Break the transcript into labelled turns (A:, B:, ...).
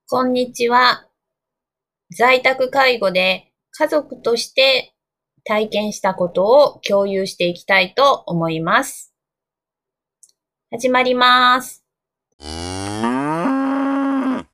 A: こんにちは。在宅介護で家族として体験したことを共有していきたいと思います。始まります。